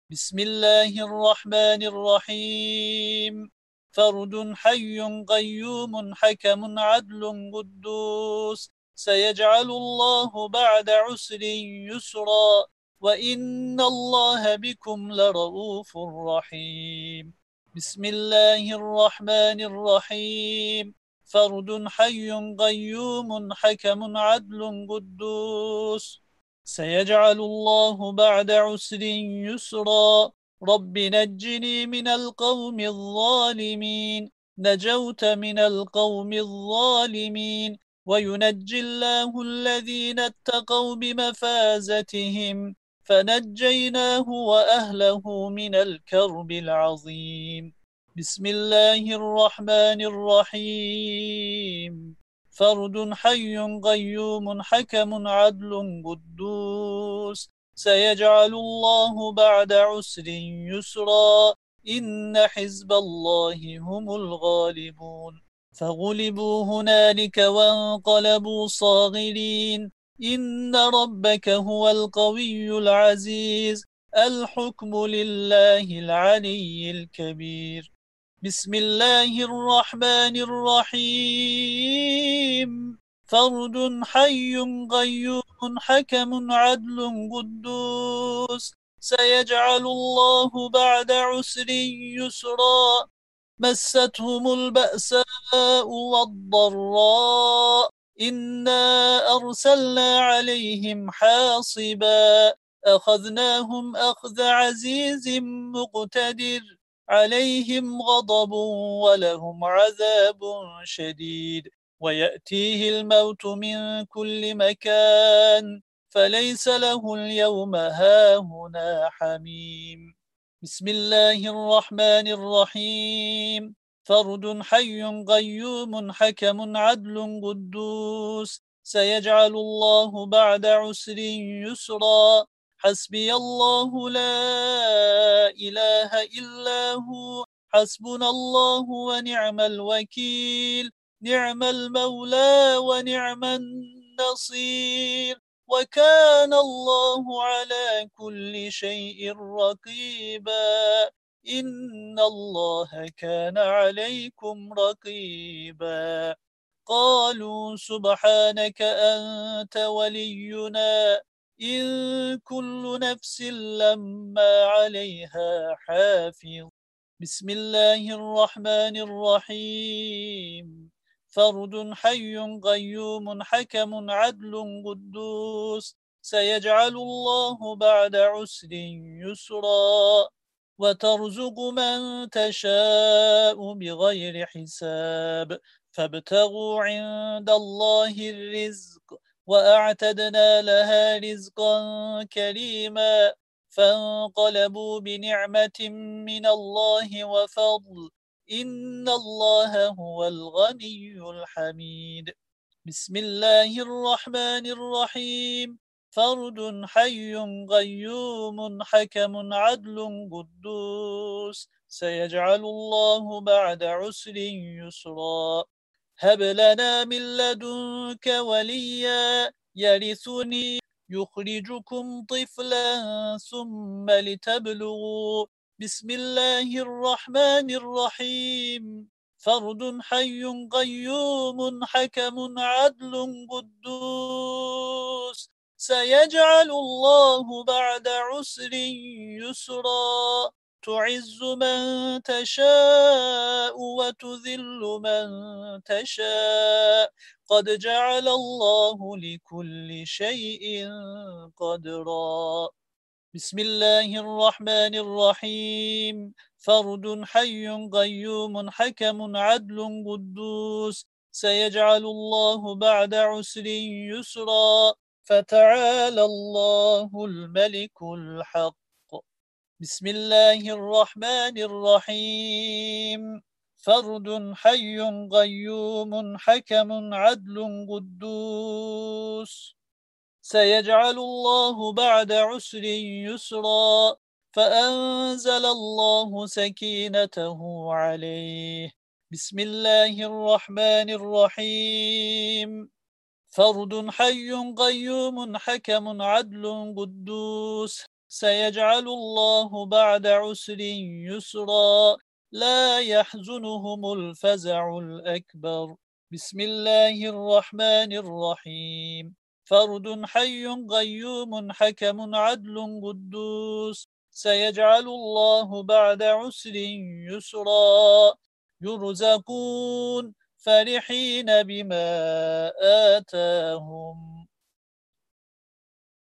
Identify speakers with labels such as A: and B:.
A: بسم الله الرحمن الرحيم. فرد حي قيوم حكم عدل قدوس. سيجعل الله بعد عسر يسرا، وإن الله بكم لرؤوف رحيم. بسم الله الرحمن الرحيم. فرد حي قيوم حكم عدل قدوس. سيجعل الله بعد عسر يسرا. رب نجني من القوم الظالمين. نجوت من القوم الظالمين. وينجي الله الذين اتقوا بمفازتهم، فنجيناه وأهله من الكرب العظيم. بسم الله الرحمن الرحيم. فرد حي قيوم حكم عدل قدوس. سيجعل الله بعد عسر يسرا. إن حزب الله هم الغالبون. فغلبوا هنالك وانقلبوا صاغرين. إن ربك هو القوي العزيز. الحكم لله العلي الكبير. بسم الله الرحمن الرحيم. فرد حي قيوم حكم عدل قدوس. سيجعل الله بعد عسر يسرا. مستهم البأساء والضراء. إنا أرسلنا عليهم حاصبا. أخذناهم أخذ عزيز مقتدر. عليهم غضب ولهم عذاب شديد. ويأتيه الموت من كل مكان. فليس له اليوم هاهنا حميم. بسم الله الرحمن الرحيم. فرد حي قيوم حكم عدل قدوس. سيجعل الله بعد عسر يسرا. حسبي الله لا إله إلا هو. حسبنا الله ونعم الوكيل. نعم المولى ونعم النصير. وكان الله على كل شيء رقيبا. إن الله كان عليكم رقيبا. قالوا سبحانك أنت ولينا. إن كل نفس لما عليها حافظ. بسم الله الرحمن الرحيم. فرد حي قيوم حكم عدل قدوس. سيجعل الله بعد عسر يسرا. وترزق من تشاء بغير حساب. فابتغوا عند الله الرزق. وأعتدنا لها رزقا كريما. فانقلبوا بنعمة من الله وفضل. إن الله هو الغني الحميد. بسم الله الرحمن الرحيم. فرد حي قيوم حكم عدل قدوس. سيجعل الله بعد عسر يسرا. هب لنا من لدنك وليا يرثني. يخرجكم طفلا ثم لتبلغوا. بسم الله الرحمن الرحيم. فرد حي قيوم حكم عدل قدوس. سيجعل الله بعد عسر يسرا. تعز من تشاء وتذل من تشاء. قد جعل الله لكل شيء قدرا. بسم الله الرحمن الرحيم. فرد حي قيوم حكم عدل قدوس. سيجعل الله بعد عسر يسرا. فتعالى الله الملك الحق. بسم الله الرحمن الرحيم. فرد حي قيوم حكم عدل قدوس. سيجعل الله بعد عسر يسرا. فأنزل الله سكينته عليه. بسم الله الرحمن الرحيم. فرد حي قيوم حكم عدل قدوس. سيجعل الله بعد عسر يسرا لا يحزنهم الفزع الأكبر بسم الله الرحمن الرحيم فرد حي قيوم حكم عدل قدوس سيجعل الله بعد عسر يسرا يرزقون فرحين بما آتاهم